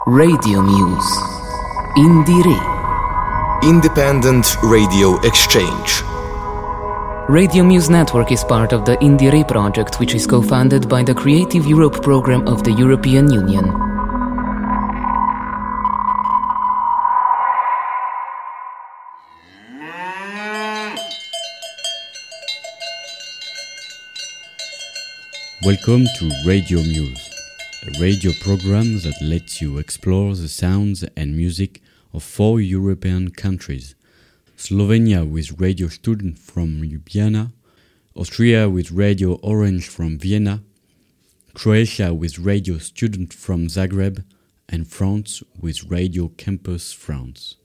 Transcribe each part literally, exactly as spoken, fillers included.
Radio Muse. Indire. Independent Radio Exchange. Radio Muse Network is part of the Indire project, which is co-funded by the Creative Europe program of the European Union. Welcome to Radio Muse, a radio program that lets you explore the sounds and music of four European countries. Slovenia with Radio Student from Ljubljana, Austria with Radio Orange from Vienna, Croatia with Radio Student from Zagreb, and France with Radio Campus France.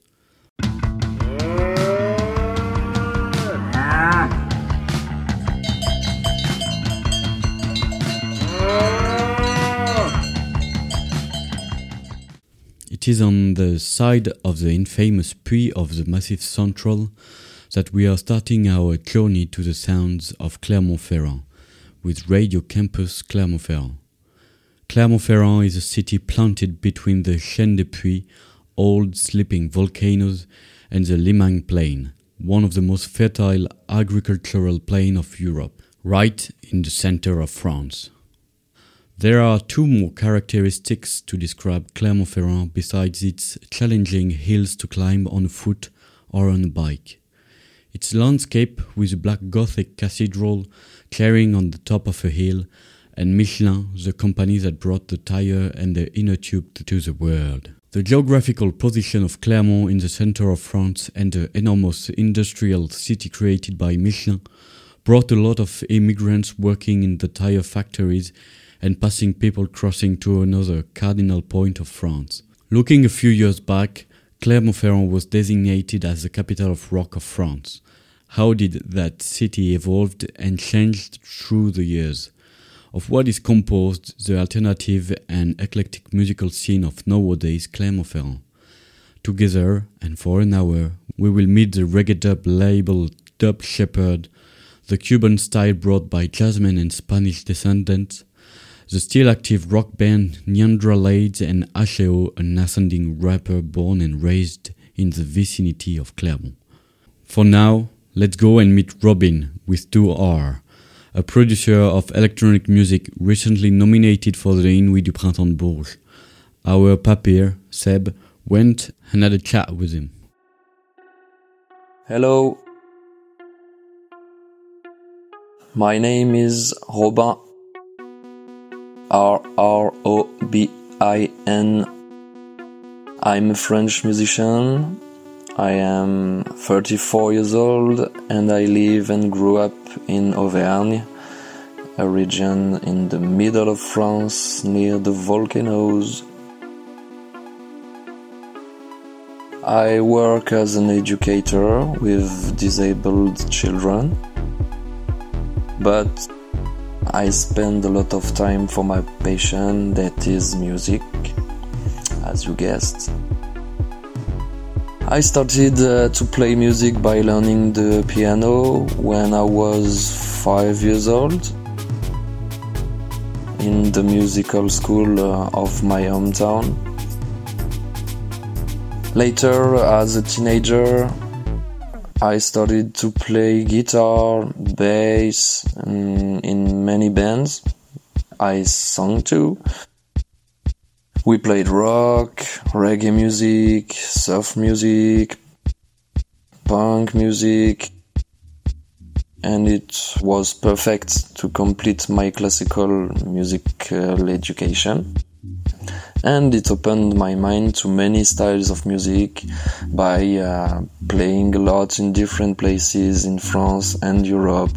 It is on the side of the infamous Puy of the Massif Central that we are starting our journey to the sounds of Clermont-Ferrand with Radio Campus Clermont-Ferrand. Clermont-Ferrand is a city planted between the Chaîne de Puy, old sleeping volcanoes, and the Limagne Plain, one of the most fertile agricultural plains of Europe, right in the center of France. There are two more characteristics to describe Clermont-Ferrand besides its challenging hills to climb on foot or on a bike. Its landscape with a black Gothic cathedral carrying on the top of a hill, and Michelin, the company that brought the tire and the inner tube to the world. The geographical position of Clermont in the center of France and the enormous industrial city created by Michelin brought a lot of immigrants working in the tire factories and passing people crossing to another cardinal point of France. Looking a few years back, Clermont-Ferrand was designated as the capital of rock of France. How did that city evolved and changed through the years? Of what is composed the alternative and eclectic musical scene of nowadays Clermont-Ferrand? Together, and for an hour, we will meet the reggae dub label Dub Shepherd, the Cuban style brought by jazzmen and Spanish descendants, the still-active rock band Neandra Lades, and Asheo, an ascending rapper born and raised in the vicinity of Clermont. For now, let's go and meet Robin with two R, a producer of electronic music recently nominated for the Inuit du Printemps de Bourges. Our papier, Seb, went and had a chat with him. Hello. My name is Robin. R R O B I N. I'm a French musician. I am thirty-four years old and I live and grew up in Auvergne, a region in the middle of France near the volcanoes. I work as an educator with disabled children, but I spend a lot of time for my passion, that is music, as you guessed. I started uh, to play music by learning the piano when I was five years old in the musical school uh, of my hometown. Later, as a teenager, I started to play guitar, bass, and in many bands. I sang too. We played rock, reggae music, surf music, punk music, and it was perfect to complete my classical musical education. And it opened my mind to many styles of music by uh, playing a lot in different places in France and Europe,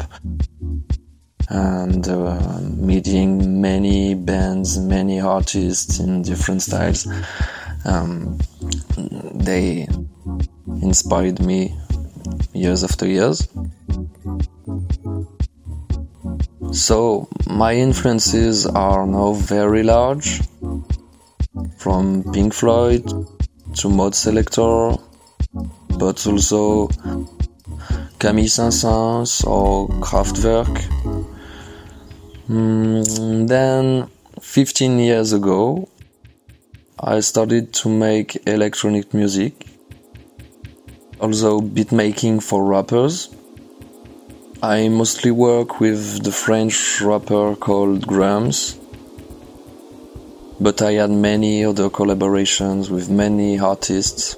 and uh, meeting many bands, many artists in different styles. Um, they inspired me years after years. So my influences are now very large, from Pink Floyd to Mode Selector, but also Camille Saint-Saëns or Kraftwerk. Mm, then, fifteen years ago, I started to make electronic music, also beat making for rappers. I mostly work with the French rapper called Grams, but I had many other collaborations with many artists.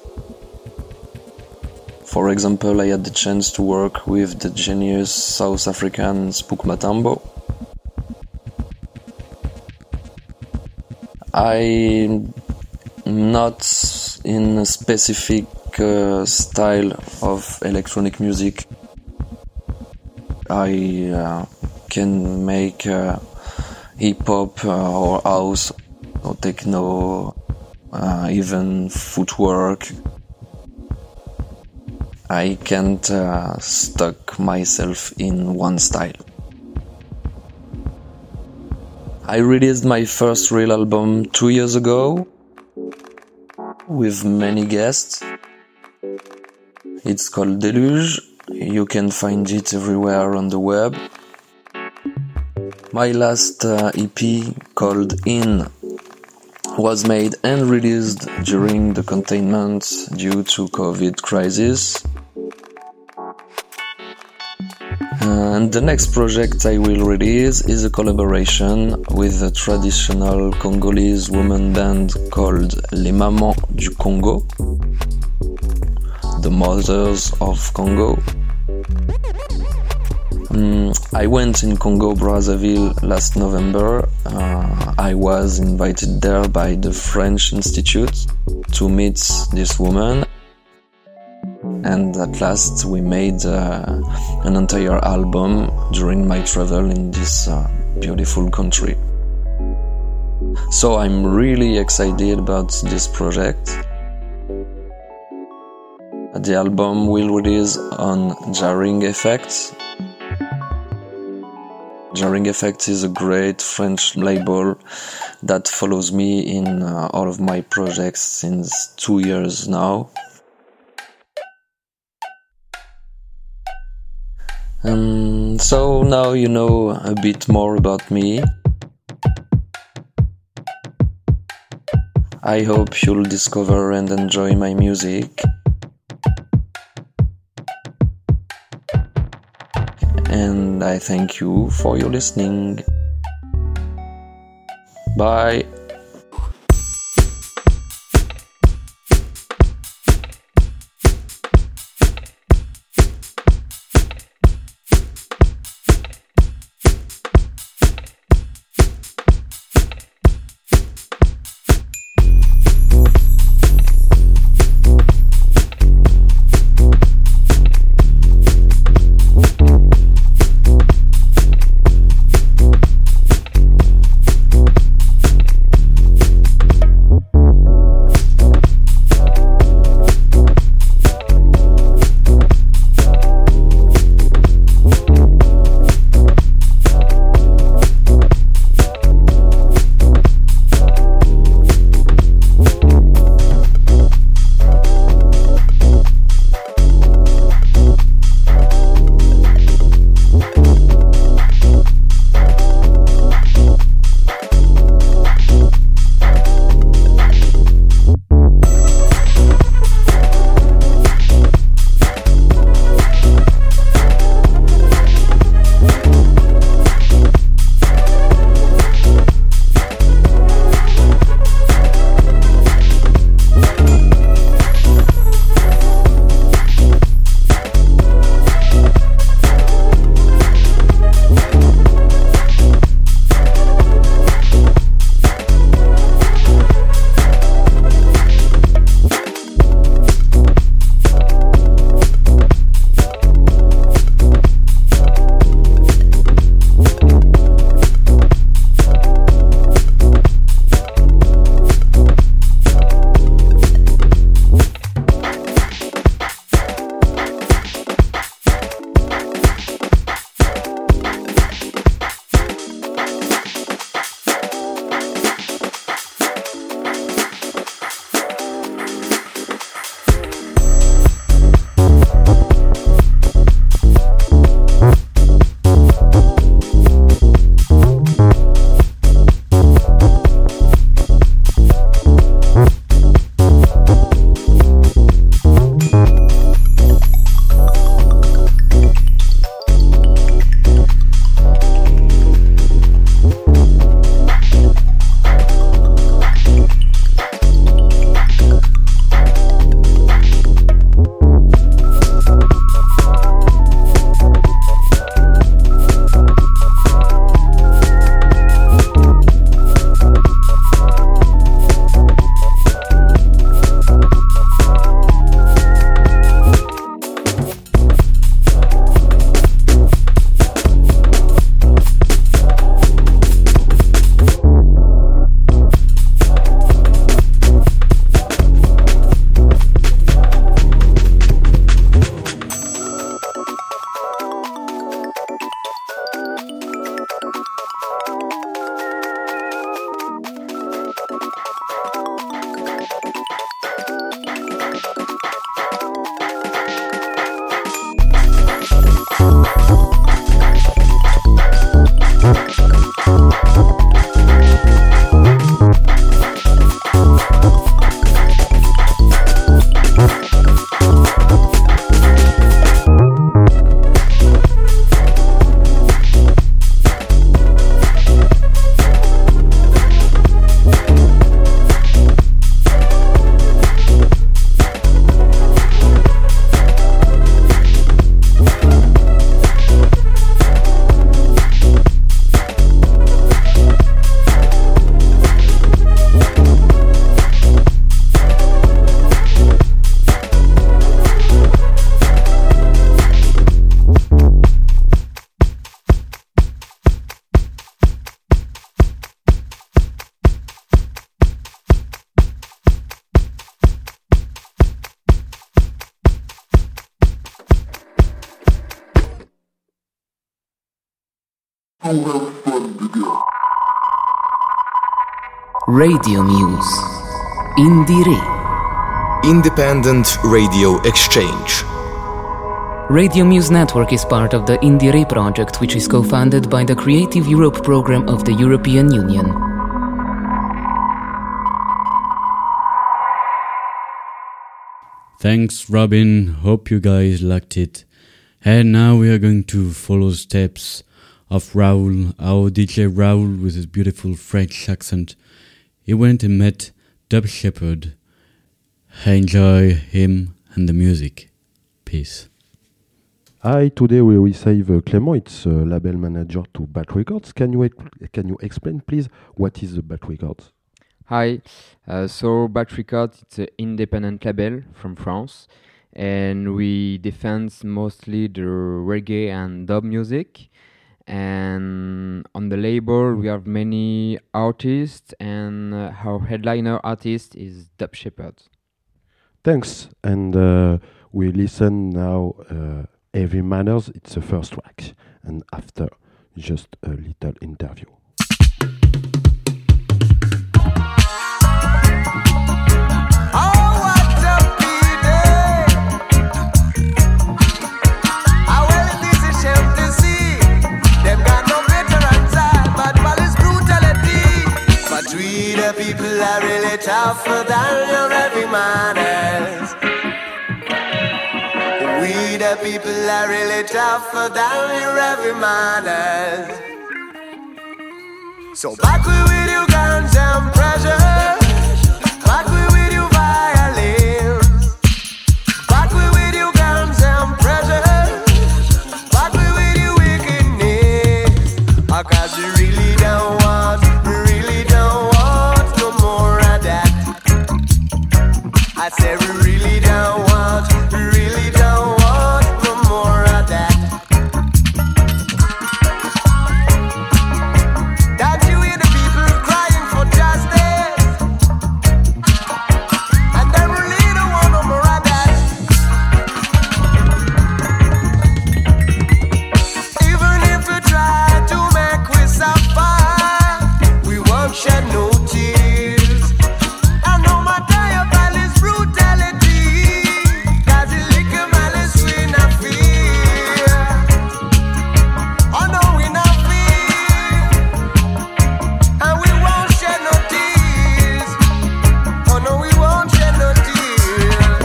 For example, I had the chance to work with the genius South African Spook Matambo. I'm not in a specific uh, style of electronic music. I uh, can make uh, hip-hop uh, or house or techno, uh, even footwork. I can't uh, stuck myself in one style. I released my first real album two years ago with many guests. It's called Deluge. You can find it everywhere on the web. My last uh, E P called In was made and released during the containment due to COVID crisis. And the next project I will release is a collaboration with a traditional Congolese woman band called Les Mamans du Congo, the Mothers of Congo. Um, I went in Congo Brazzaville last November. Uh, I was invited there by the French Institute to meet this woman. And at last we made uh, an entire album during my travel in this uh, beautiful country. So I'm really excited about this project. The album will release on Jarring Effects. Jarring Effects is a great French label that follows me in uh, all of my projects since two years now. Um, so now you know a bit more about me. I hope you'll discover and enjoy my music. And I thank you for your listening. Bye. Radio Muse. Indire. Independent Radio Exchange. Radio Muse Network is part of the Indire project, which is co-funded by the Creative Europe program of the European Union. Thanks, Robin. Hope you guys liked it. And now we are going to follow the steps of Raoul, our D J Raoul with his beautiful French accent. He went and met Dub Shepherd. Enjoy him and the music. Peace. Hi, today we receive uh, Clément, it's uh, label manager to Bat Records. Can you can you explain, please, what is the Bat Records? Hi, uh, so Bat Records, it's an independent label from France, and we defend mostly the reggae and dub music. And on the label, we have many artists, and uh, our headliner artist is Dub Shepherd. Thanks, and uh, we listen now. Uh, Heavy Manners, it's the first track, and after, just a little interview. People are really tougher than your heavy manners. We the people are really tougher than your heavy manners. So back we with you guns and pressure. Back we with you violence. Back we with you guns and pressure. Back we with you wickedness. Cause you really don't want, really don't want no more of that. I said we really don't want, really don't want no more of that. Don't you hear the people crying for justice? And they really don't want no more of that. Even if we try to make we suffer, we won't shed no tears. And no matter your values, brutality, cause it liquor malice we not fear. Oh no, we not fear. And we won't shed no tears. Oh no, we won't shed no tears.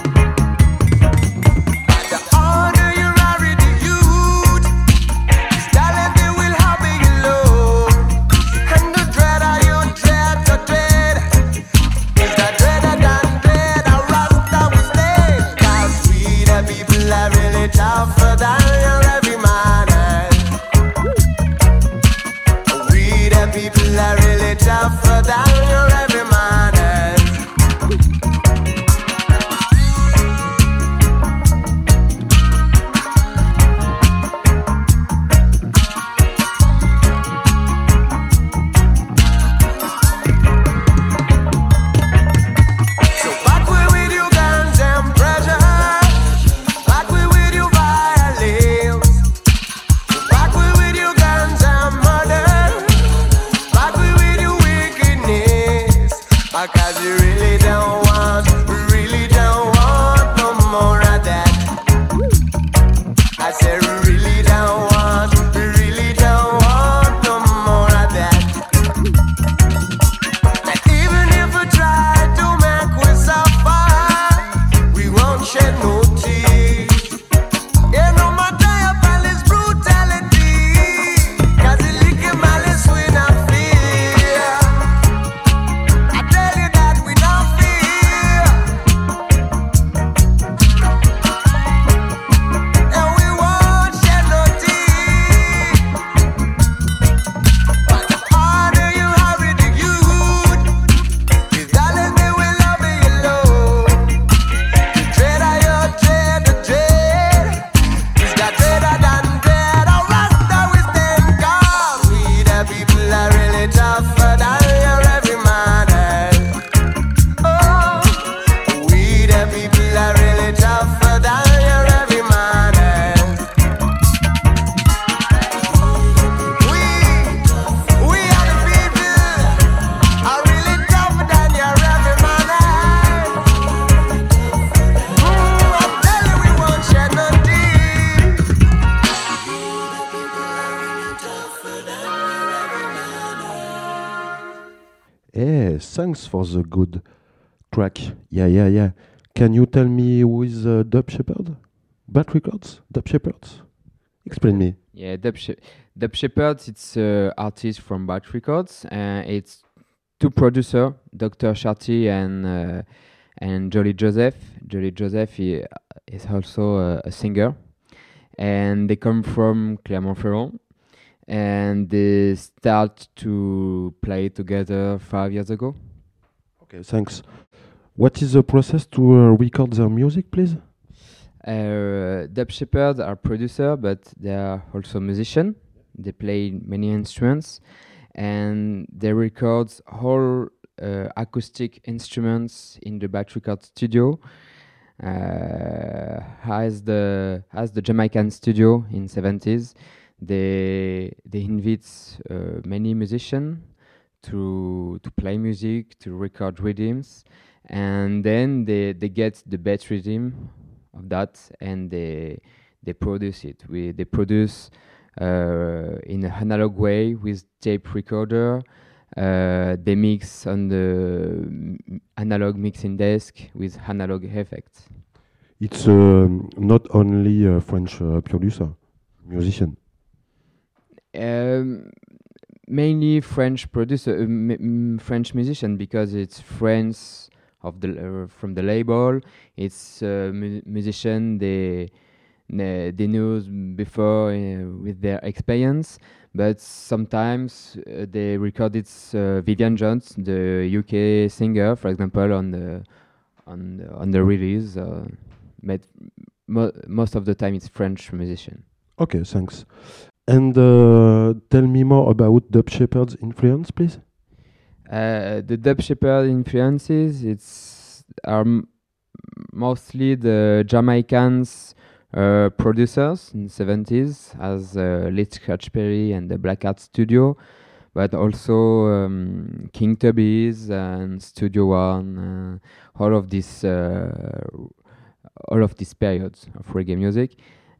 The order you are in the youth, talent they will have you low. And the dread of you dread to dread is the dreader than dread. A rasta we stay. Cause we the people are really tougher than your heavy manners. We the people are really tougher than your heavy manners. So back we with you guns and pressure. Back we with you violence. Back we with you guns and murder. Back we with you wickedness. Cause you really don't want, really don't want no more of that. I said we really don't want, we really don't want no more of that. And even if we try to make we suffer, we won't shed no tears. Yeah, no matter your palace brutality, cause it liquor malice we not fear. I tell you that we don't fear. Hey, thanks for the good track. Yeah, yeah, yeah. Can you tell me who is uh, Dub Shepherd? Bat Records? Dub Shepherds? Explain me. Yeah, Dub, She- Dub Shepherd, it's an artist from Bat Records. Uh, it's two producers, Doctor Sharty and uh, and Jolly Joseph. Jolly Joseph he, is also a, a singer. And they come from Clermont-Ferrand. And they start to play together five years ago. Okay, thanks. What is the process to uh, record their music, please? Uh, Dub Shepherd are producer, but they are also musician. They play many instruments, and they record all uh, acoustic instruments in the Bat Record studio. Uh, as the as the Jamaican studio in seventies, they they invite uh, many musicians to to play music, to record rhythms, and then they they get the best rhythm of that, and they they produce it. We they produce uh, in an analog way with tape recorder. Uh, they mix on the m- analog mixing desk with analog effects. It's um, not only a French uh, producer, musician. Um, mainly French producer, uh, m- m- French musician, because it's friends of the uh, from the label. It's uh, mu- musician they they they knew before uh, with their experience, but sometimes uh, they recorded uh, Vivian Jones, the U K singer, for example, on the on the, on the release. Uh, but mo- most of the time, it's French musician. Okay, thanks. And uh, tell me more about Dub Shepherd's influence, please. Uh, the Dub Shepherd influences it's are m- mostly the Jamaicans uh, producers in the seventies, as uh, Lee Scratch Perry and the Black Art Studio, but also um, King Tubby's and Studio One, uh, all of this, uh, all of these periods of reggae music.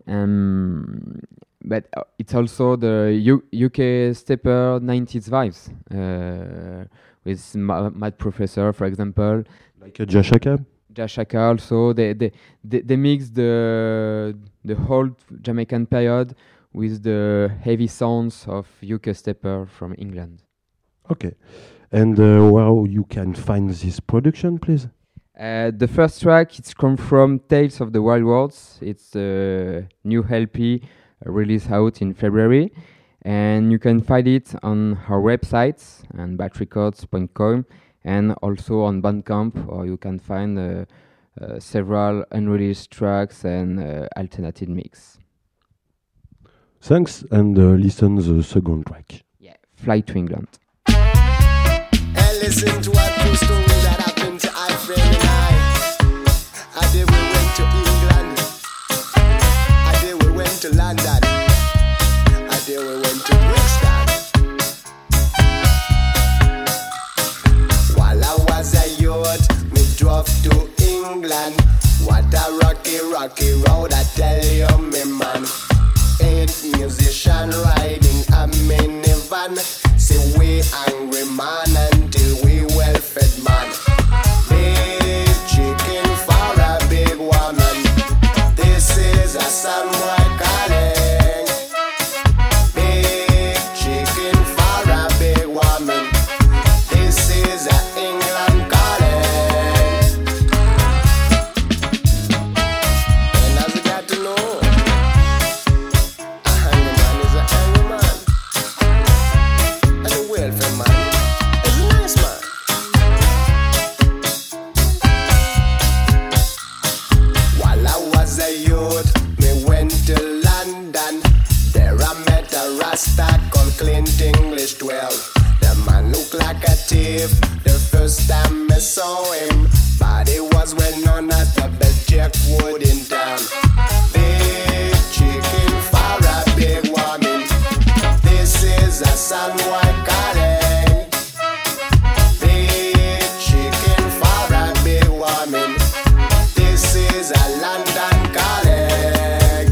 Um, but uh, it's also the U- UK stepper nineties vibes, uh, with Ma- Mad Professor, for example. Like a Jashaka? Jashaka also. They, they, they, they mix the, the whole Jamaican period with the heavy sounds of U K stepper from England. Okay. And uh, where you can find this production, please? Uh, the first track, it's come from Tales of the Wild Worlds. It's a new L P uh, released out in February, and you can find it on our website and bat records dot com, and also on Bandcamp, or you can find uh, uh, several unreleased tracks and uh, alternative mix. Thanks, and uh, listen the second track. Yeah, Fly to England. And listen to a true story that happened to our friend and I. I did we went to England. I did we went to London. I did we went to Brixton. While I was a youth, me drove to England. What a rocky, rocky road, I tell you, me man. Eight musician riding a minivan. Say we angry man until we well fed man. Big chicken for a big woman. This is a son boy calling. Big chicken for a big woman. This is a England calling. And as you got to know, a hungry man is a angry man. And a welfare man is a nice man. While I was a youth, me went to London. There I met a Rasta called Clint English twelve. The man looked like a thief the first time me saw him, but he was well known as the best jackwood in town. Big chicken for a big woman. This is a son boy calling. Big chicken for a big woman. This is a London calling.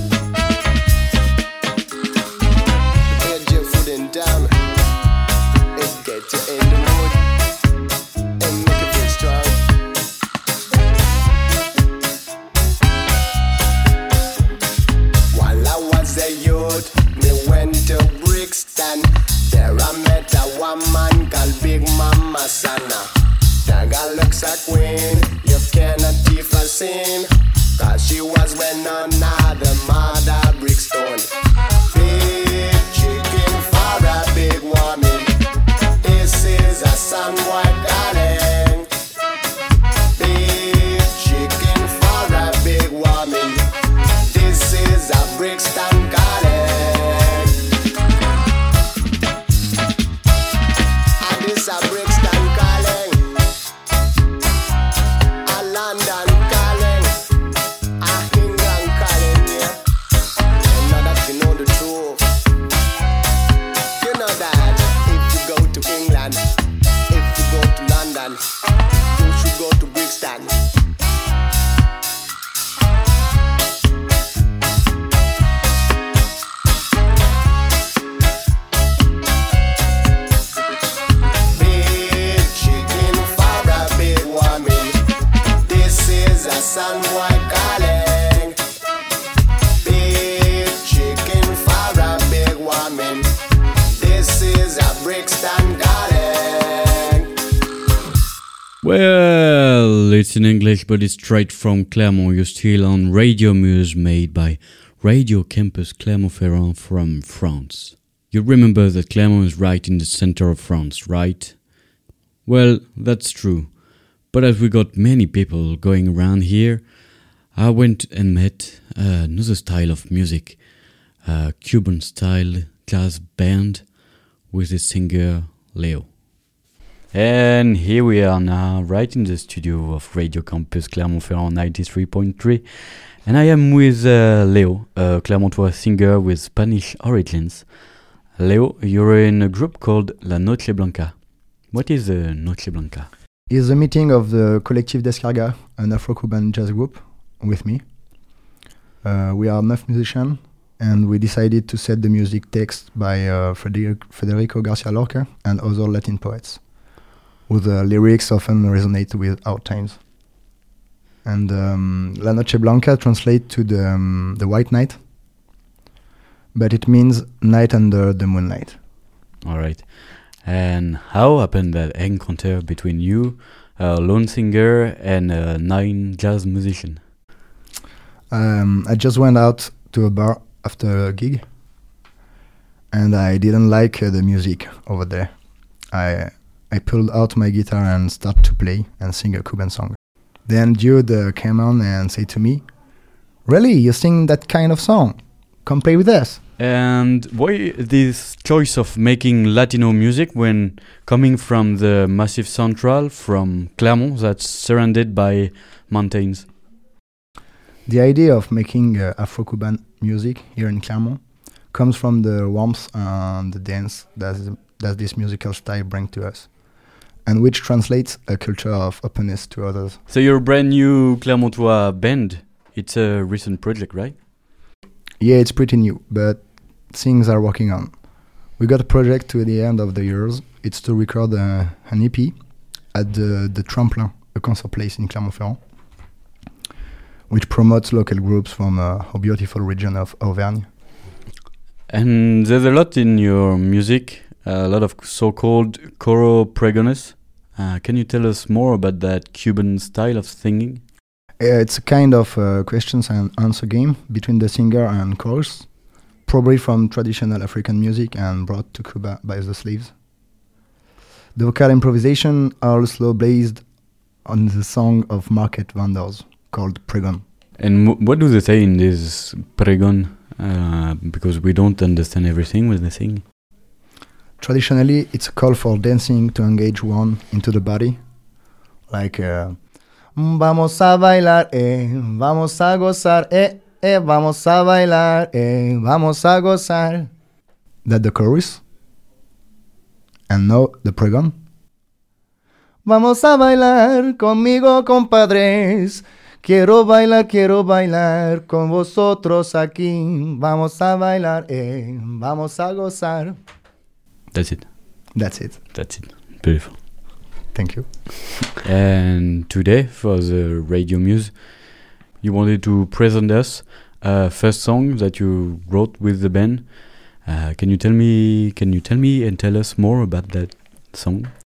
Big jackwood in town. my son. That girl looks a queen, you cannot keep her sin. Cause she was when none other mother Brickstone. Big chicken for a big woman. This is a son white calling. Big chicken for a big woman. This is a Brixton calling. And this a Brixton calling. A London calling. A England calling, yeah. And now that you know the truth, you know that if you go to England, if you go to London, you should go to Brixton. Big chicken for a big woman. This is a son white calling. Big chicken for a big woman. This is a Brixton calling. Well, it's in English, but it's straight from Clermont. You're still on Radio Muse, made by Radio Campus Clermont-Ferrand from France. You remember that Clermont is right in the center of France, right? Well, that's true. But as we got many people going around here, I went and met uh, another style of music, a Cuban style jazz band with the singer Leo. And here we are now, right in the studio of Radio Campus Clermont-Ferrand ninety-three point three. And I am with uh, Leo, a Clermontois singer with Spanish origins. Leo, you're in a group called La Noche Blanca. What is the Noche Blanca? It's a meeting of the Collective Descarga, an Afro-Cuban jazz group, with me. Uh, we are enough musicians, and we decided to set the music text by uh, Frederic- Federico Garcia Lorca and other Latin poets, whose uh, lyrics often resonate with our times. And um, La Noche Blanca translates to the, um, the white night, but it means night under the moonlight. All right. And how happened that encounter between you, a lone singer, and a nine jazz musician? Um, I just went out to a bar after a gig, and I didn't like uh, the music over there. I I pulled out my guitar and started to play and sing a Cuban song. Then Jude uh, came on and said to me, "Really, you sing that kind of song? Come play with us." And why this choice of making Latino music when coming from the Massif Central, from Clermont, that's surrounded by mountains? The idea of making uh, Afro-Cuban music here in Clermont comes from the warmth and the dance that, that this musical style brings to us, and which translates a culture of openness to others. So you're a brand new Clermontois band. It's a recent project, right? Yeah, it's pretty new, but things are working on. We got a project to the end of the years. It's to record uh, an E P at the, the Tremplin, a concert place in Clermont-Ferrand, which promotes local groups from uh, our beautiful region of Auvergne. And there's a lot in your music, a lot of so-called coro pregones. Uh, can you tell us more about that Cuban style of singing? Uh, it's a kind of uh, questions and answer game between the singer and chorus, probably from traditional African music and brought to Cuba by the slaves. The vocal improvisation are also based on the song of market vendors called Pregon. And w- what do they say in this pregon? Uh, because we don't understand everything when they sing. Traditionally, it's a call for dancing to engage one into the body, like uh, vamos a bailar, eh, vamos a gozar, eh, eh, vamos a bailar, eh, vamos a gozar. That's the chorus. And now the pregon. Vamos a bailar conmigo, compadres. Quiero bailar, quiero bailar con vosotros aquí. Vamos a bailar, eh, vamos a gozar. That's it. That's it. That's it. Beautiful. Thank you. And today, for the Radio Muse, you wanted to present us a first song that you wrote with the band. Uh, can you tell me? Can you tell me and tell us more about that song?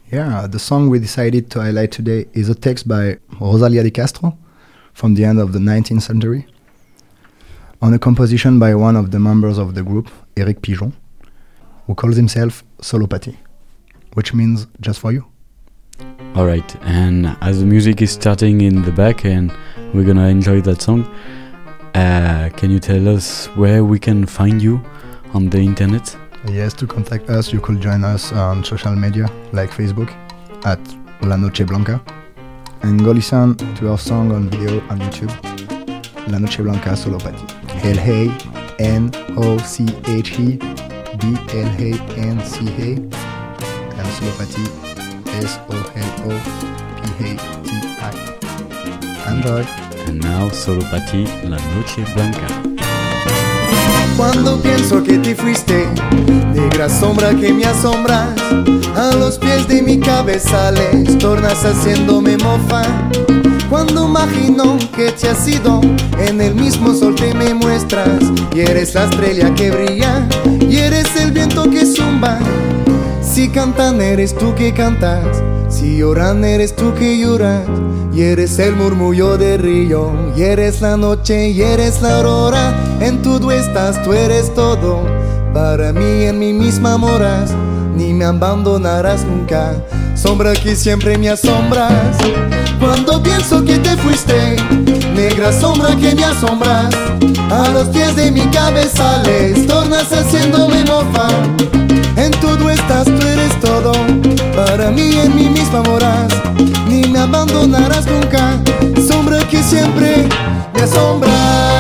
Yeah, the song we decided to highlight today is a text by Rosalía de Castro from the end of the nineteenth century, on a composition by one of the members of the group, Éric Pigeon, who calls himself Solopathy, which means just for you. Alright, and as the music is starting in the back and we're gonna enjoy that song, uh, can you tell us where we can find you on the internet? Yes, to contact us, you could join us on social media like Facebook at La Noche Blanca, and go listen to our song on video on YouTube, La Noche Blanca Solopathy. L A N O C H E B L A N C A, and Solopathy S O L O P A T I. Enjoy! And now Solopathy, La Noche Blanca. Cuando pienso que te fuiste, negra sombra que me asombras, a los pies de mi cabeza les tornas haciéndome mofa. Cuando imagino que te has ido, en el mismo sol te me muestras, y eres la estrella que brilla, y eres el viento que zumba. Si cantan eres tú que cantas, si lloran eres tú que lloras, y eres el murmullo del río, y eres la noche, y eres la aurora. En todo estás, tú eres todo, para mí en mí misma moras, ni me abandonarás nunca, sombra que siempre me asombras. Cuando pienso que te fuiste, negra sombra que me asombras, a los pies de mi cabeza les tornas haciéndome mofa. En todo estás, tú eres todo, para mí en mí misma moras, ni me abandonarás nunca, sombra que siempre me asombras.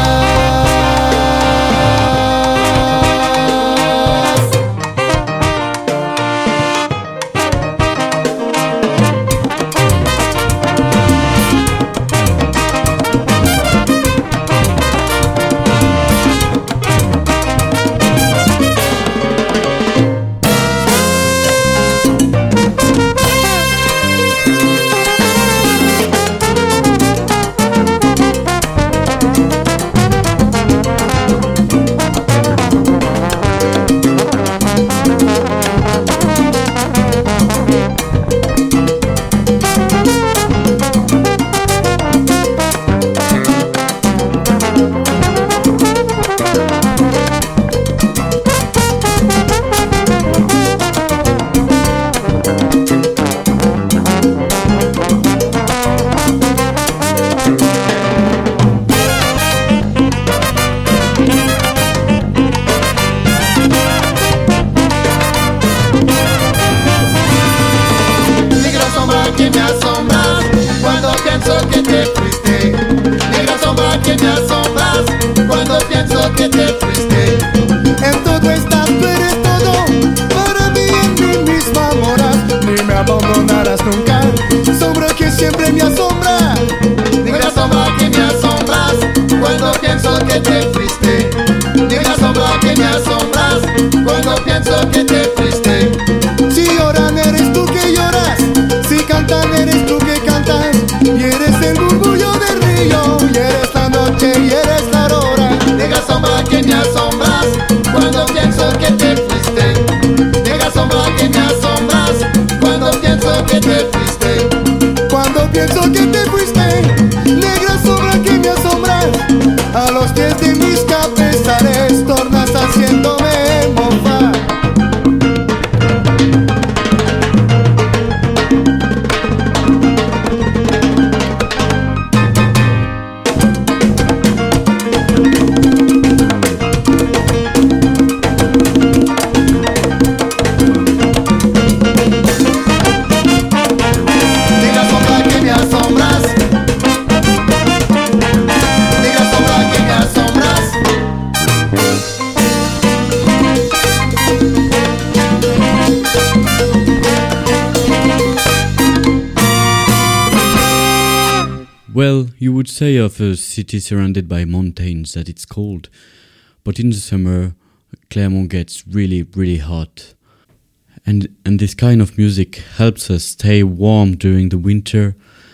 Well, you would say of a city surrounded by mountains that it's cold, but in the summer, Clermont gets really, really hot. And, and this kind of music helps us stay warm during the winter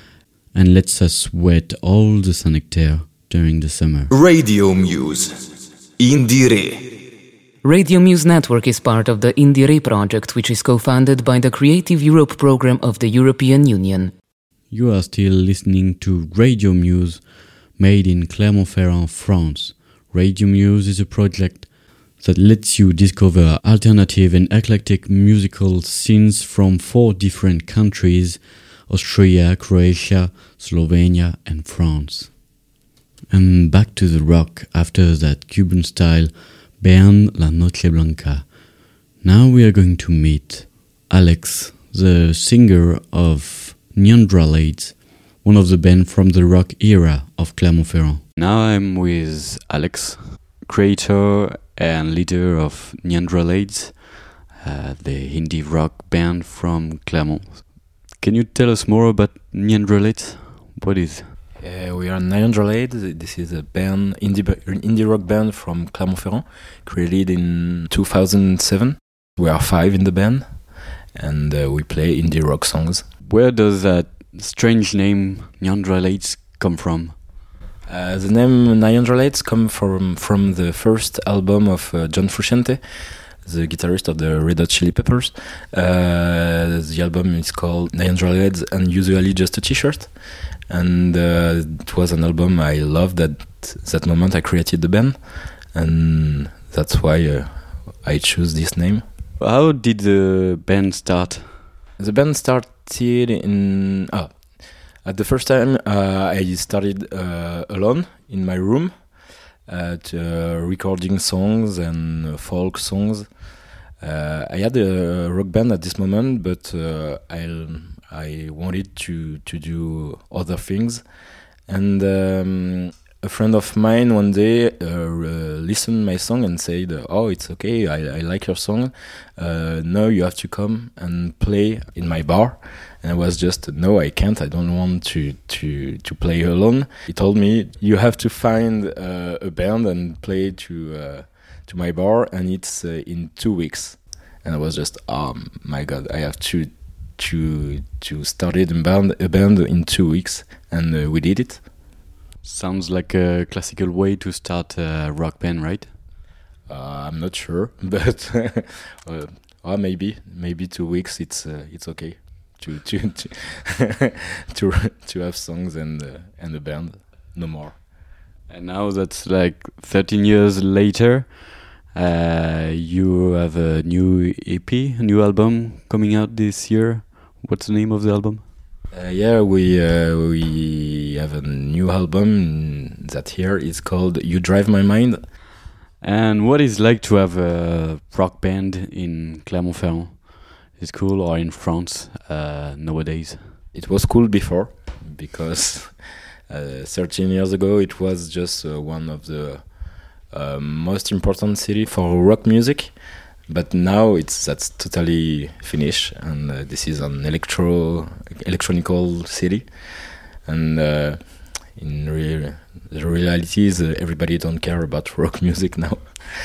and lets us sweat all the Saint-Nectaire during the summer. Radio Muse. Indire. Radio Muse Network is part of the Indire project, which is co-funded by the Creative Europe program of the European Union. You are still listening to Radio Muse, made in Clermont-Ferrand, France. Radio Muse is a project that lets you discover alternative and eclectic musical scenes from four different countries: Austria, Croatia, Slovenia and France. And back to the rock after that Cuban style Bern La Noche Blanca. Now we are going to meet Alex, the singer of Neanderlades, one of the band from the rock era of Clermont-Ferrand. Now I'm with Alex, creator and leader of Neanderlades, uh, the indie rock band from Clermont. Can you tell us more about Neanderlades? What is it? Uh, we are Neanderlades. This is a band, indie, indie rock band from Clermont-Ferrand, created in two thousand seven. We are five in the band, and uh, we play indie rock songs. Where does that strange name Neanderlades come from? Uh, the name Neanderlades come from from the first album of uh, John Frusciante, the guitarist of the Red Hot Chili Peppers. Uh, the album is called Neanderlades and Usually Just a T-Shirt. And uh, it was an album I loved at that moment I created the band, and that's why uh, I chose this name. How did the band start? The band started in... Oh, at the first time uh, I started uh, alone in my room, at uh, recording songs and folk songs. Uh, I had a rock band at this moment, but uh, I I wanted to to do other things, and um, a friend of mine one day uh, uh, listened my song and said, "Oh, it's okay. I, I like your song. Uh, now you have to come and play in my bar." And I was just, "No, I can't. I don't want to to to play alone." He told me, "You have to find uh, a band and play to uh, to my bar, and it's uh, in two weeks." And I was just, "Oh my God, I have to to to start a band a band in two weeks," and uh, we did it. Sounds like a classical way to start a rock band, right? Uh, I'm not sure, but uh, or maybe maybe two weeks. It's uh, it's okay to to to to, to have songs and uh, and a band, no more. And now that's like thirteen years later. Uh, you have a new E P, a new album coming out this year. What's the name of the album? Uh, yeah, we uh, we have a new album that year. It's called "You Drive My Mind." And what is it like to have a rock band in Clermont-Ferrand? Is it cool, or in France uh, nowadays? It was cool before, because uh, thirteen years ago it was just uh, one of the uh, most important city for rock music. But now it's that's totally finished, and uh, this is an electro electronical city. And uh, in real, the reality is uh, everybody don't care about rock music now.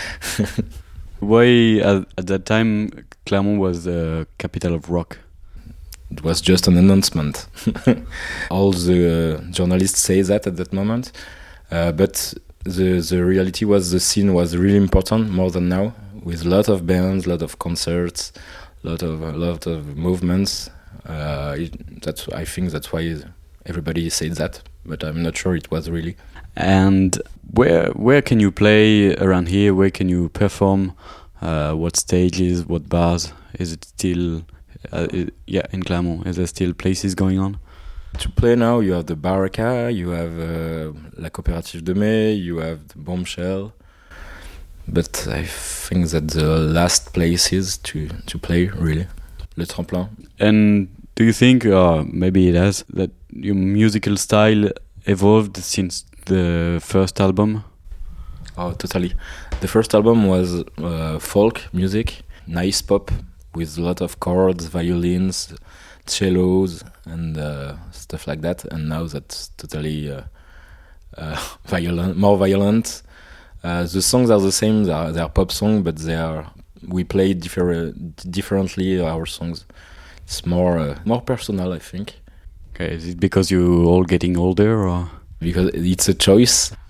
Why at, at that time Clermont was the capital of rock? It was just an announcement. All the uh, journalists say that at that moment, uh, but the the reality was the scene was really important, more than now, with a lot of bands, a lot of concerts, a lot of a lot of movements. Uh, it, that's I think that's why everybody said that, but I'm not sure it was really. And where where can you play around here? Where can you perform? Uh, what stages? What bars? Is it still? Uh, it, yeah, in Clermont, is there still places going on? To play now, you have the Baraka, you have uh, La Coopérative de Mai, you have the Bombshell. But I think that the last places to, to play, really, Le Tremplin. And do you think, or maybe it has, that your musical style evolved since the first album? Oh, totally. The first album was uh, folk music, nice pop, with a lot of chords, violins, cellos, and uh, stuff like that. And now that's totally uh, uh, violent, more violent. Uh, the songs are the same; they are, they are pop songs, but they are we play differ- differently our songs. It's more uh, more personal, I think. Okay, is it because you're all getting older, or because it's a choice?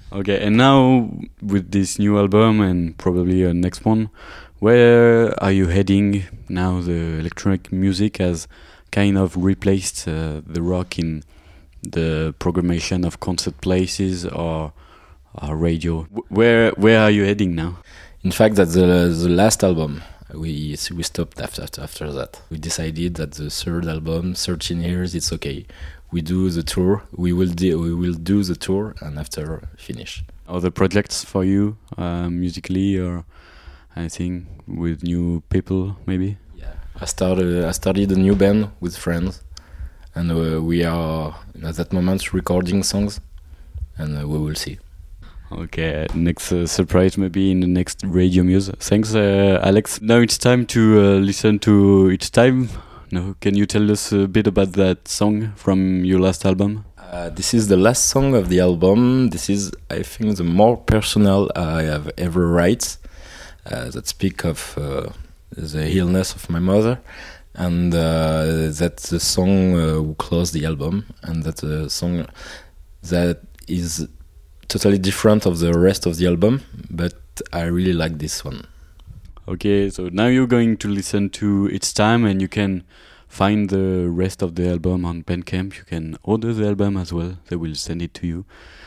Okay, and now with this new album and probably a next one, where are you heading now? The electronic music has kind of replaced uh, the rock in the programmation of concert places or, or radio. W- where where are you heading now? In fact, that's the the last album. We we stopped after after that. We decided that the third album, thirteen years, it's okay. We do the tour. We will do we will do the tour, and after finish. Other projects for you, uh, musically or anything with new people, maybe? Yeah, I started I started a new band with friends, and uh, we are at that moment recording songs, and uh, we will see. Okay, next uh, surprise maybe in the next Radio Muse. Thanks, uh, Alex. Now it's time to uh, listen to It's Time. No, can you tell us a bit about that song from your last album? Uh, this is the last song of the album. This is, I think, the more personal I have ever write. Uh, that speak of uh, the illness of my mother, and uh, that's the song uh, who closed the album, and that's a song that is totally different of the rest of the album, but I really like this one. Okay, so now you're going to listen to It's Time, and you can find the rest of the album on Bandcamp. You can order the album as well. They will send it to you.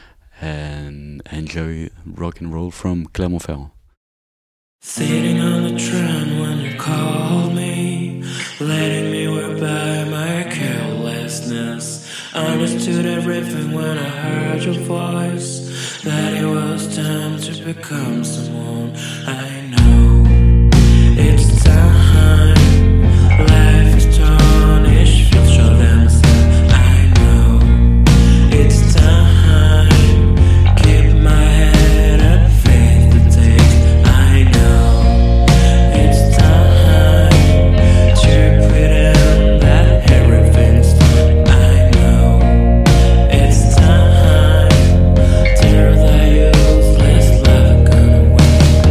And enjoy rock and roll from Clermont-Ferrand. Sitting on the train when you called me, letting me wear by my carelessness. Understood everything when I heard your voice, that it was time to become someone I know. It's time, life is tarnished, future themselves, I know. It's time, keep my head up, faith to take, I know. It's time to pretend that everything's done, I know. It's time, tear the useless love gone away.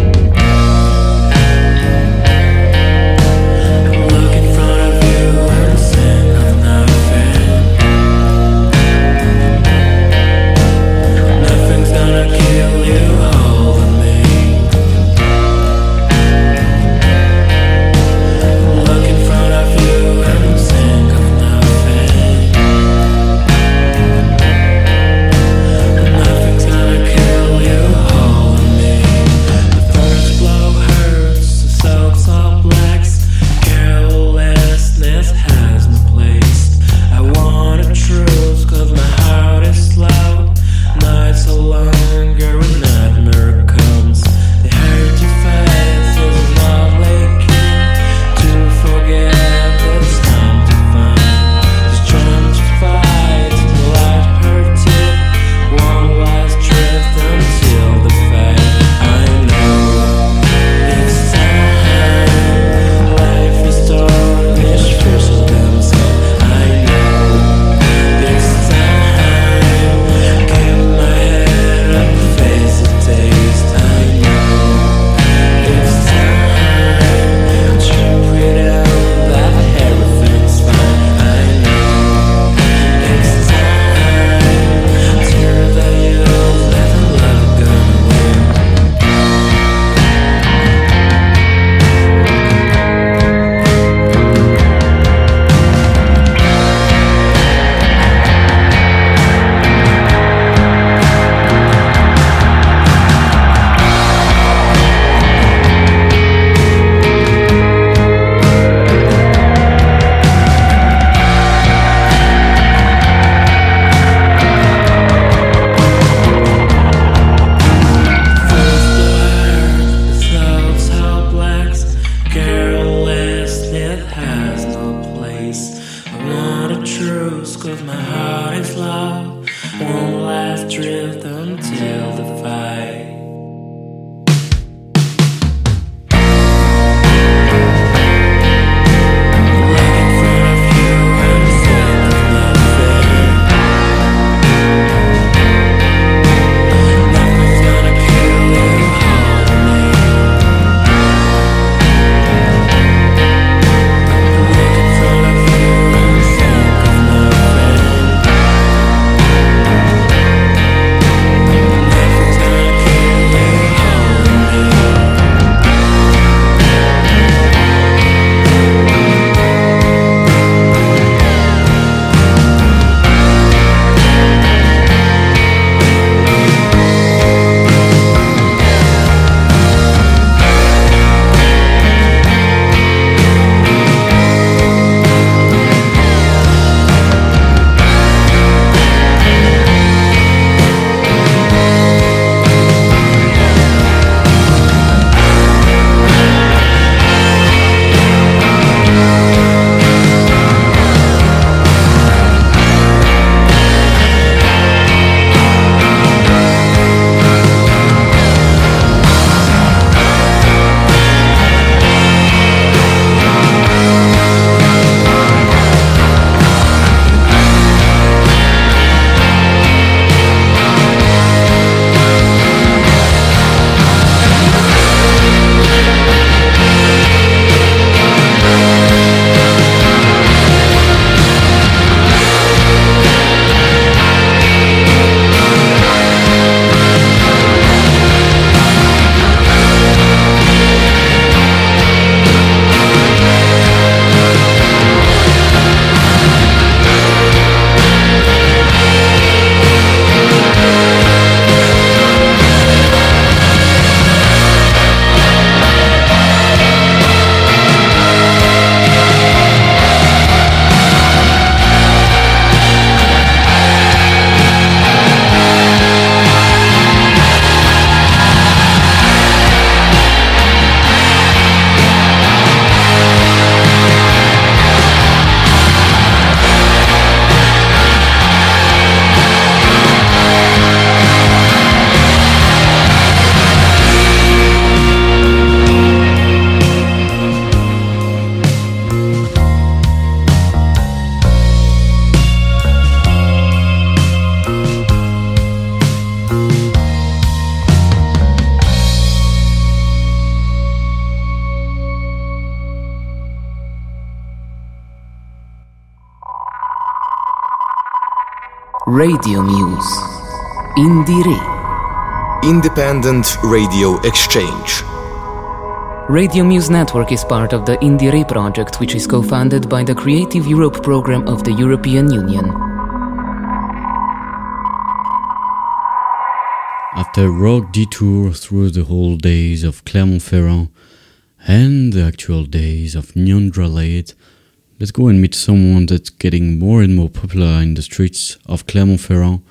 Look in front of you and think of nothing. Nothing's gonna kill you, hold me. Look in front of you and think of nothing. Nothing's gonna kill you, hold me. The first blow hurts, the soaks all blacks. Carelessness has no place. I want a truth, cause my heart is slow. Nights are longer when nightmare comes. The hurt you face is not like you. To forget it's time to find the strength to fight. The light hurts you. One last drift until the fight. I know it's time. Life is tarnished, versus themselves. I know it's time. Keep my head up, face the taste. I know it's time to pretend that everything's fine. I know it's time. Tear the youth, let the love go away. Carelessness has no place. I want a truce, cause my heart is love. One last drift until the fight. Look in front of you and think of nothing. Nothing's gonna kill you, hold me. Look in front of you and think of nothing. Radio Muse. Indire. Independent Radio Exchange. Radio Muse Network is part of the Indire project, which is co-funded by the Creative Europe program of the European Union. After a rock detour through the whole days of Clermont-Ferrand and the actual days of Nyon-Droit, let's go and meet someone that's getting more and more popular in the streets of Clermont-Ferrand.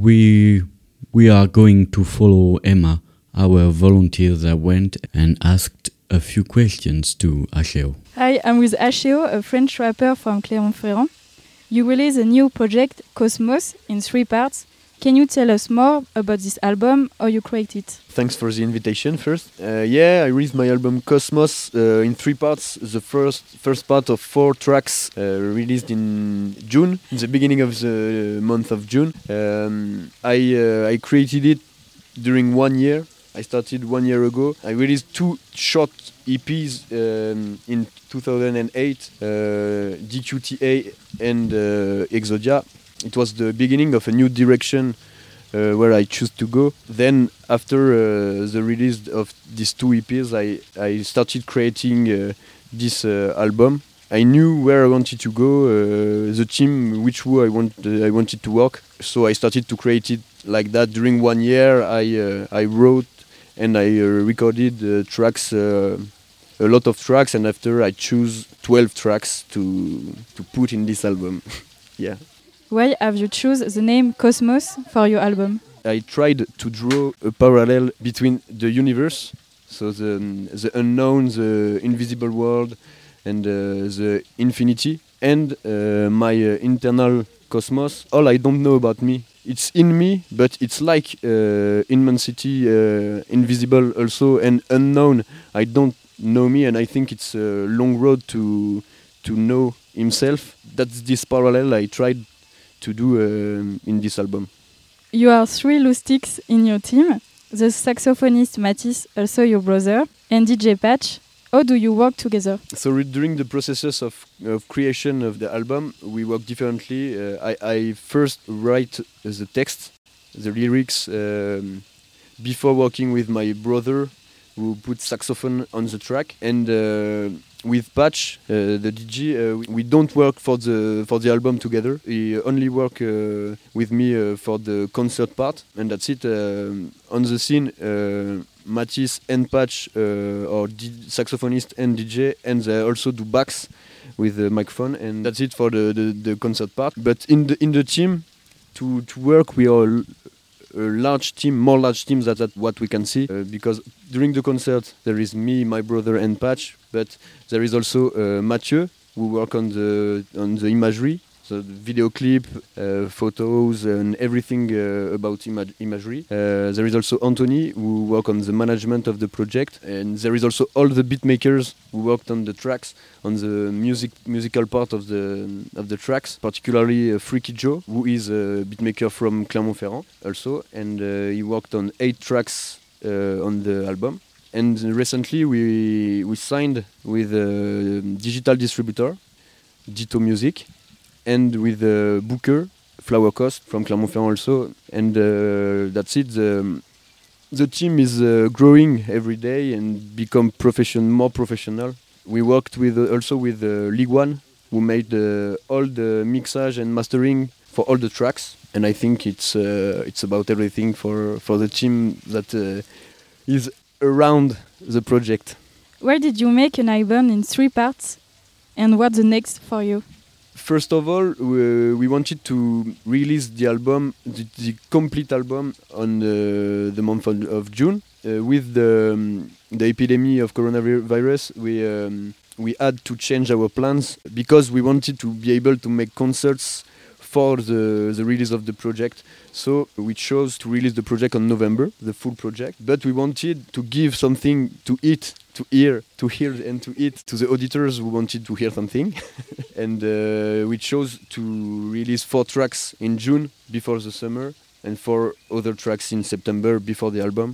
We we are going to follow Emma, our volunteer that went and asked a few questions to Asheo. Hi, I'm with Asheo, a French rapper from Clermont-Ferrand. You release a new project, Cosmos, in three parts. Can you tell us more about this album, how you create it? Thanks for the invitation first. Uh, yeah, I released my album Cosmos uh, in three parts. The first first part of four tracks uh, released in June, in the beginning of the month of June. Um, I uh, I created it during one year. I started one year ago. I released two short E Ps um, in two thousand eight, uh, D Q T A and uh, Exodia. It was the beginning of a new direction uh, where I choose to go. Then, after uh, the release of these two E Ps, I, I started creating uh, this uh, album. I knew where I wanted to go, uh, the team which who I want uh, I wanted to work. So I started to create it like that. During one year, I uh, I wrote and I uh, recorded uh, tracks, uh, a lot of tracks, and after I choose twelve tracks to to put in this album. Yeah. Why have you chosen the name Cosmos for your album? I tried to draw a parallel between the universe, so the, the unknown, the invisible world, and uh, the infinity, and uh, my uh, internal cosmos. All I don't know about me. It's in me, but it's like uh, immensity, uh, invisible also, and unknown. I don't know me, and I think it's a long road to to know himself. That's this parallel I tried to do uh, in this album. You are three Loustics in your team. The saxophonist Mathis, also your brother, and D J Patch. How do you work together? So re- during the processes of, of creation of the album, we work differently. Uh, I, I first write the text, the lyrics, um, before working with my brother, who put saxophone on the track, and uh, with Patch, uh, the D J, uh, we, we don't work for the for the album together. He only work uh, with me uh, for the concert part, and that's it. Uh, on the scene, uh, Mathis and Patch uh, are D- saxophonist and D J, and they also do backs with the microphone, and that's it for the, the, the concert part. But in the in the team, to to work, we are a large team, more large teams than that what we can see, uh, because during the concert there is me, my brother, and Patch, but there is also uh, Mathieu who work on the on the imagery, so the video clip, uh, photos, and everything uh, about ima- imagery. Uh, there is also Anthony who work on the management of the project, and there is also all the beat makers who worked on the tracks, on the music musical part of the of the tracks, particularly uh, Freaky Joe, who is a beatmaker from Clermont-Ferrand also, and uh, he worked on eight tracks uh, on the album. And recently we we signed with a digital distributor, Ditto Music, and with uh, Booker, Flower Coast from Clermont-Ferrand also, and uh, that's it. The, the team is uh, growing every day and become profession more professional. We worked with uh, also with uh, League One, who made uh, all the mixage and mastering for all the tracks, and I think it's uh, it's about everything for for the team that uh, is around the project. Why did you make an album in three parts, and what's the next for you? First of all, we, we wanted to release the album, the, the complete album, on the, the month of, of June. Uh, with the um, the epidemic of coronavirus, we um, we had to change our plans because we wanted to be able to make concerts for the, the release of the project. So we chose to release the project on November, the full project. But we wanted to give something to eat, to hear, to hear and to eat to the auditors who wanted to hear something. And uh, we chose to release four tracks in June before the summer, and four other tracks in September before the album.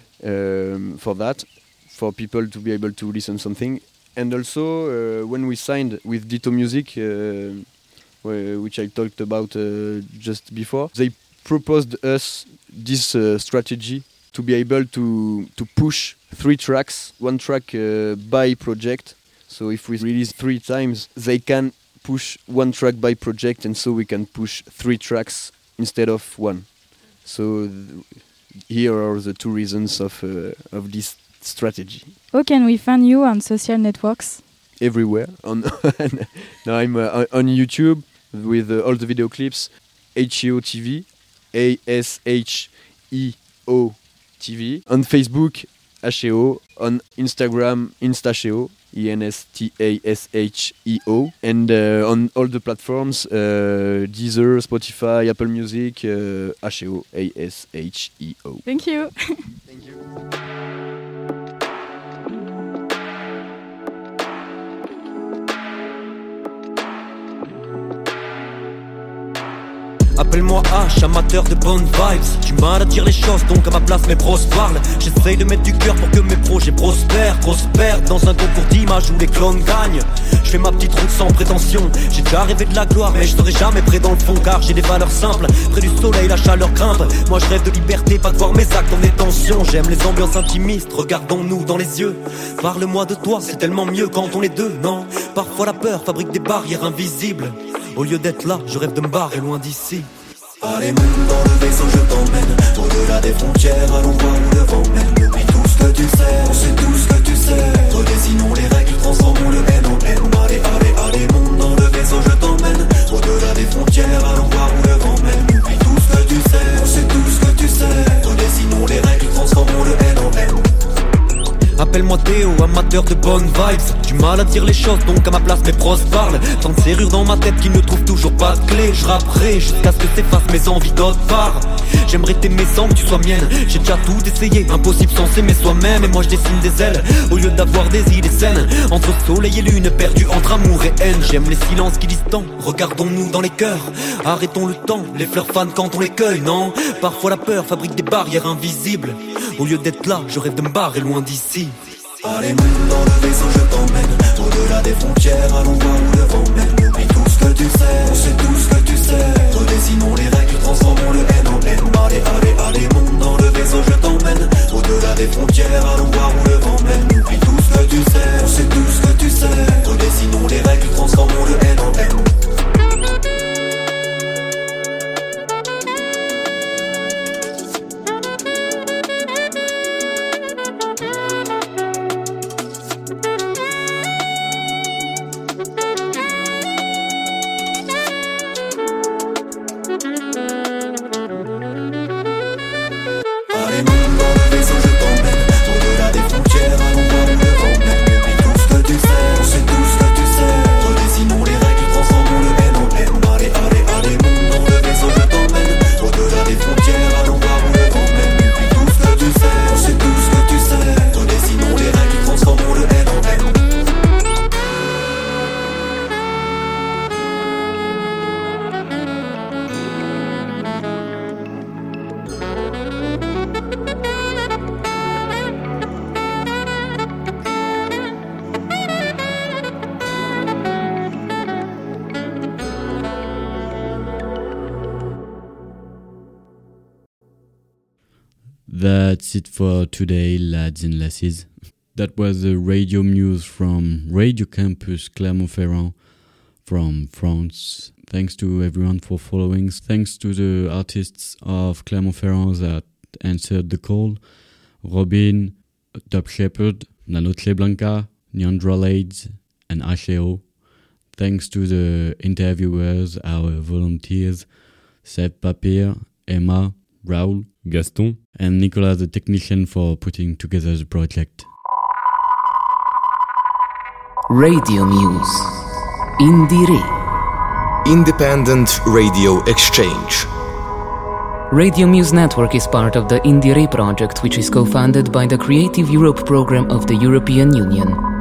Um, for that, for people to be able to listen something. And also, uh, when we signed with Ditto Music, uh, uh, which I talked about uh, just before. They proposed us this uh, strategy to be able to to push three tracks, one track uh, by project. So if we release three times, they can push one track by project, and so we can push three tracks instead of one. So th- here are the two reasons of uh, of this strategy. How can we find you on social networks? Everywhere. On now I'm uh, on YouTube with uh, all the video clips. H E O T V, A S H E O T V. On Facebook, H E O. On Instagram, Instasheo, E N S T A S H E O. And uh, on all the platforms, uh, Deezer, Spotify, Apple Music, uh, H E O, A S H E O. Thank you. Thank you. Appelle-moi H, amateur de bonnes vibes. Du mal à dire les choses, donc à ma place mes pros parlent. J'essaye de mettre du cœur pour que mes projets prospèrent. Prospèrent dans un concours d'images où les clones gagnent. Je fais ma petite route sans prétention. J'ai déjà rêvé de la gloire, mais je serai jamais près dans le fond. Car j'ai des valeurs simples, près du soleil la chaleur grimpe. Moi je rêve de liberté, pas de voir mes actes en détention. J'aime les ambiances intimistes, regardons-nous dans les yeux. Parle-moi de toi, c'est tellement mieux quand on est deux, non? Parfois la peur fabrique des barrières invisibles. Au lieu d'être là, je rêve de me barrer loin d'ici. Allez, monte dans le vaisseau, je t'emmène au-delà des frontières, allons voir où le vent mène. Oublie tout ce que tu sais, on sait tout ce que tu sais. Redessinons les règles, transformons le haine en haine. Allez, allez, allez, monte dans le vaisseau, je t'emmène au-delà des frontières, allons voir où le vent mène. Oublie tout ce que tu sais, on sait tout ce que tu sais. Redessinons les règles, transformons le haine en haine. Appelle-moi Théo, amateur de bonnes vibes. Du mal à dire les choses, donc à ma place mes pros parlent. Tant de serrures dans ma tête qui ne trouvent toujours pas de clé. Je rapperai jusqu'à ce que s'effacent mes envies d'autre part. J'aimerais t'aimer sans que tu sois mienne. J'ai déjà tout essayé, impossible sans s'aimer soi-même. Et moi je dessine des ailes, au lieu d'avoir des idées saines. Entre soleil et lune, perdu entre amour et haine. J'aime les silences qui disent tant, regardons-nous dans les cœurs. Arrêtons le temps, les fleurs fanent quand on les cueille, non? Parfois la peur fabrique des barrières invisibles. Au lieu d'être là, je rêve de me barrer loin d'ici. Allez, monte dans le vaisseau, je t'emmène au-delà des frontières, allons voir où le vent mène. Oublie tout ce que tu sais, on sait tout ce que tu sais. Redessinons les règles, transformons le haine en haine. Allez, allez, allez, monte dans le vaisseau, je t'emmène au-delà des frontières, allons voir où le vent mène. Oublie tout ce que tu sais, on sait tout ce que tu sais. Redessinons les règles, transformons le haine en haine. That's it for today, lads and lasses. That was the radio news from Radio Campus Clermont-Ferrand from France. Thanks to everyone for following. Thanks to the artists of Clermont-Ferrand that answered the call. Robin, Top Shepherd, Nanotle Blanca, Neandra Lades, and H E O. Thanks to the interviewers, our volunteers, Seb Papier, Emma, Raoul, Gaston, and Nicolas, the technician, for putting together the project. Radio Muse. Indire. Independent Radio Exchange. Radio Muse Network is part of the Indire project, which is co-funded by the Creative Europe program of the European Union.